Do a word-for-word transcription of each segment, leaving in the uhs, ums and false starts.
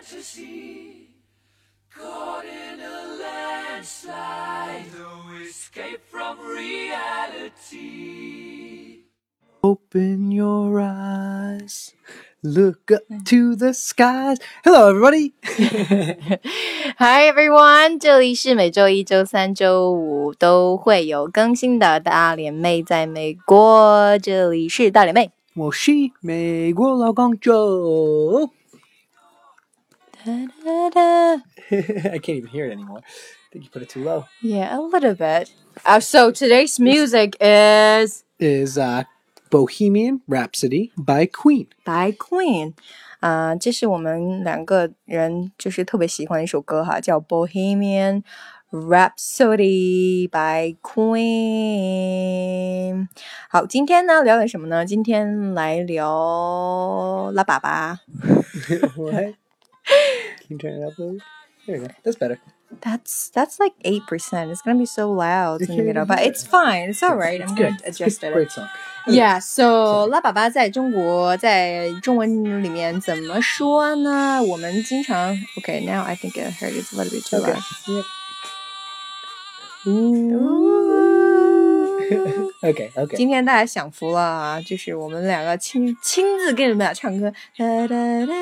fantasy, caught in a landslide, no escape from reality. Open your eyes, look up to the skies. Hello, everybody. Hi everyone， 这里是每周一、周三、周五都会有更新的大脸妹在美国，这里是大脸妹。 我是美国老公 Joe. 哒哒哒 I can't even hear it anymore. I think you put it too low. Yeah, a little bit. Uh, so today's music is Is uh, Bohemian Rhapsody by Queen. by Queen. 啊、uh, 这是我们两个人就是特别喜欢的一首歌哈，叫 Bohemian Rhapsody by Queen. 好，今天呢聊点什么呢？今天来聊拉粑粑。 What? Can you turn it up a little? There you go. That's better. That's that's like eight percent. It's gonna be so loud in the middle, but it's fine. It's all right. I'm gonna adjust it. Great song. Yeah. So 拉粑粑在中国在中文里面怎么说呢？我们经常 Okay. Now I think I heard it's a little bit too Okay. loud. Yep. Ooh. Okay. Okay. 今天大家享福了啊！就是我们两个亲亲自给你们俩唱歌。哒哒哒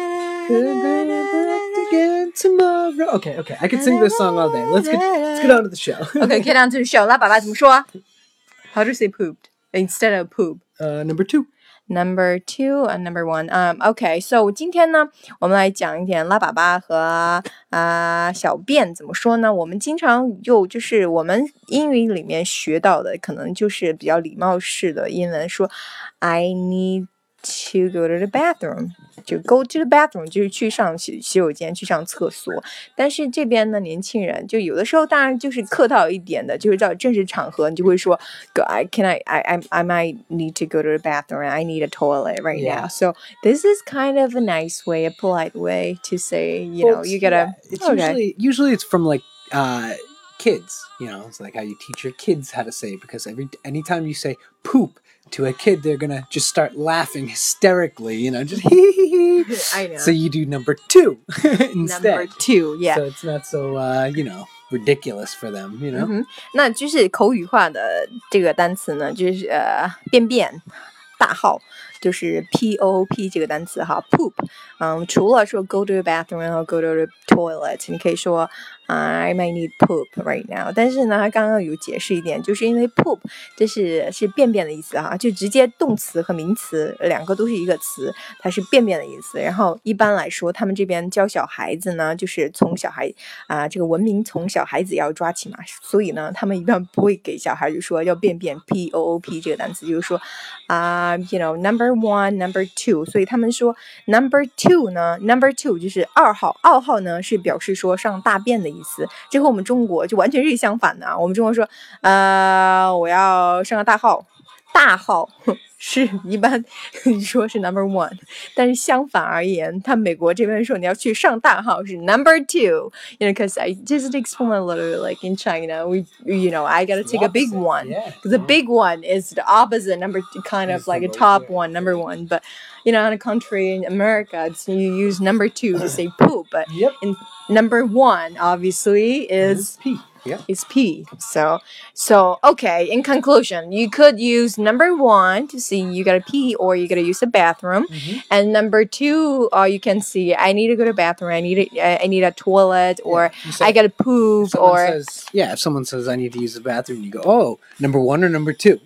Again tomorrow. Okay, okay. I could sing this song all day. Let's get let's get on to the show. Okay, get on to the show. 拉粑粑怎么说 ？How to say pooped instead of poop? Uh, number two. Number two and number one. Um, okay, so 今天呢，我们来讲一点拉粑粑和啊、呃、小便怎么说呢？我们经常用，就是我们英语里面学到的，可能就是比较礼貌式的英文，说 I need to go to the bathroom. 就 go to the bathroom 就是去上洗洗手间，去上厕所。但是这边呢，年轻人就有的时候当然就是客套一点的，就是到正式场合，你就会说 I can I I I might need to go to the bathroom. I need a toilet right Yeah. now. So this is kind of a nice way, a polite way to say, you know, Folks, you gotta. yeah, it's okay. usually usually it's from like uh kids, you know, it's like how you teach your kids how to say it, because every anytime you say poop to a kid, they're gonna just start laughing hysterically, you know, just hee hee hee. I know. So you do number two instead. Number two, yeah. So it's not so uh, you know, ridiculous for them, you know. 嗯哼，那就是口语化的这个单词呢，就是呃便便大号，就是 P O O P 这个单词哈 ，poop。嗯，除了说 go to the bathroom 然后 go to the toilet， 你可以说、uh, I might need poop right now。但是呢，他刚刚有解释一点，就是因为 poop 这是是便便的意思哈，就直接动词和名词两个都是一个词，它是便便的意思。然后一般来说，他们这边教小孩子呢，就是从小孩啊、呃、这个文明从小孩子要抓起嘛，所以呢，他们一般不会给小孩就说要便便 P O O P 这个单词，就是说啊、uh, ，you know number one number two， 所以他们说 number two 呢 number two 就是二号，二号呢是表示说上大便的意思，这和我们中国就完全是相反的啊。我们中国说呃我要上个大号，大号是一般说是 number one， 但是相反而言，他美国这边说你要去上大号是 number two， you know, because I just explain a little like in China, we you know I gotta take a big one, because the big one is the opposite number, kind of like a top one, number one, but you know in a country in America, it's, you use number two to say poop, but Yep. in number one obviously is P. Yeah. is P. So, so okay. In conclusion, you could use number one to see you gotta pee or you gotta use the bathroom, Mm-hmm. and number two, uh, you can see I need to go to the bathroom. I need a, I need a toilet, or Yeah. Say, I gotta poop, someone or says, yeah, if someone says I need to use the bathroom, you go, oh, number one or number two.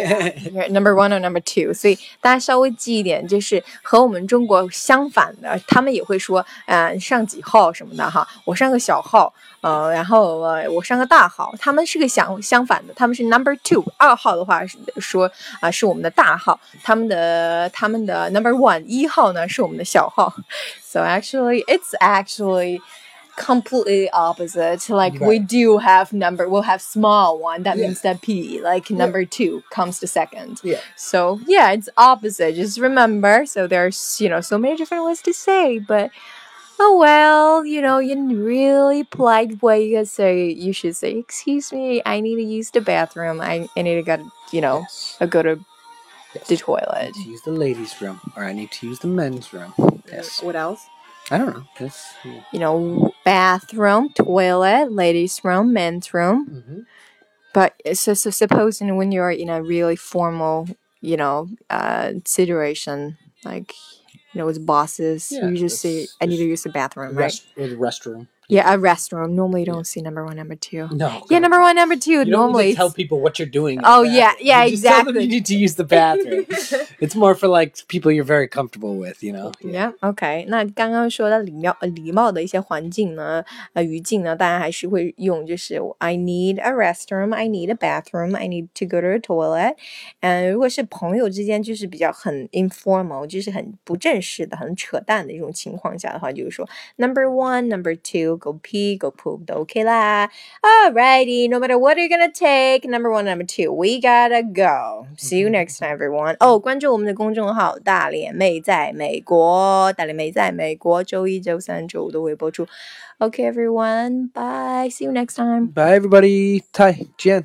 number one or number two. 所以大家稍微记一点，就是和我们中国相反的，他们也会说，呃，上几号什么的哈，我上个小号。呃，然后呃，我上个大号，他们是个相相反的，他们是 number two， 二号的话是说啊、呃、是我们的大号，他们的他们的 number one 一号呢是我们的小号 ，so actually it's actually completely opposite. Like Right. we do have number, we'll have small one. That Yeah. means that P, like number two comes to second. Yeah. So yeah, it's opposite. Just remember. So there's you know so many different ways to say, but. Oh well, you know, in really polite way, you say you should say, "Excuse me, I need to use the bathroom. I, I need to go, you know, Yes. I go to Yes. the I toilet." need to use the ladies' room, or I need to use the men's room. Yes. What else? I don't know. That's, yeah. You know, bathroom, toilet, ladies' room, men's room. Mm-hmm. But so, so supposing when you're in a really formal, you know, uh, situation, like, you know, with bosses, Yeah, you just say, that's I need to just use the bathroom, Rest right? or the restroom. Yeah, a restroom. Normally, you don't Yeah. see number one, number two. No. Yeah, God. number one, number two. You don't normally, need to tell it's- people what you're doing. in Oh, the yeah, bathroom. yeah, you just tell them exactly. you need to use the bathroom. It's more for like people you're very comfortable with, you know. Yeah, OK。那刚刚说的礼貌、礼貌的一些环境呢，呃，语境呢，大家还是会用，就是 I need a restroom, I need a bathroom, I need to go to a toilet。嗯，如果是朋友之间，就是比较很 informal，就是很不正式的、很扯淡的一种情况下的话，就是说 number one, number two, go pee, go poop 都 OK 啦。Alrighty, no matter what you're gonna take, number one, number two, we gotta go. See you next time, everyone. 哦，关注我们的公众号“大脸妹在美国”，大脸妹在美国，周一、周三、周五都会播出。Okay, everyone. Bye. See you next time. Bye, everybody. Tai, Jen.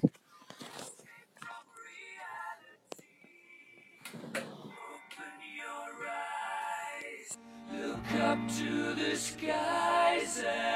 Look up to the skies and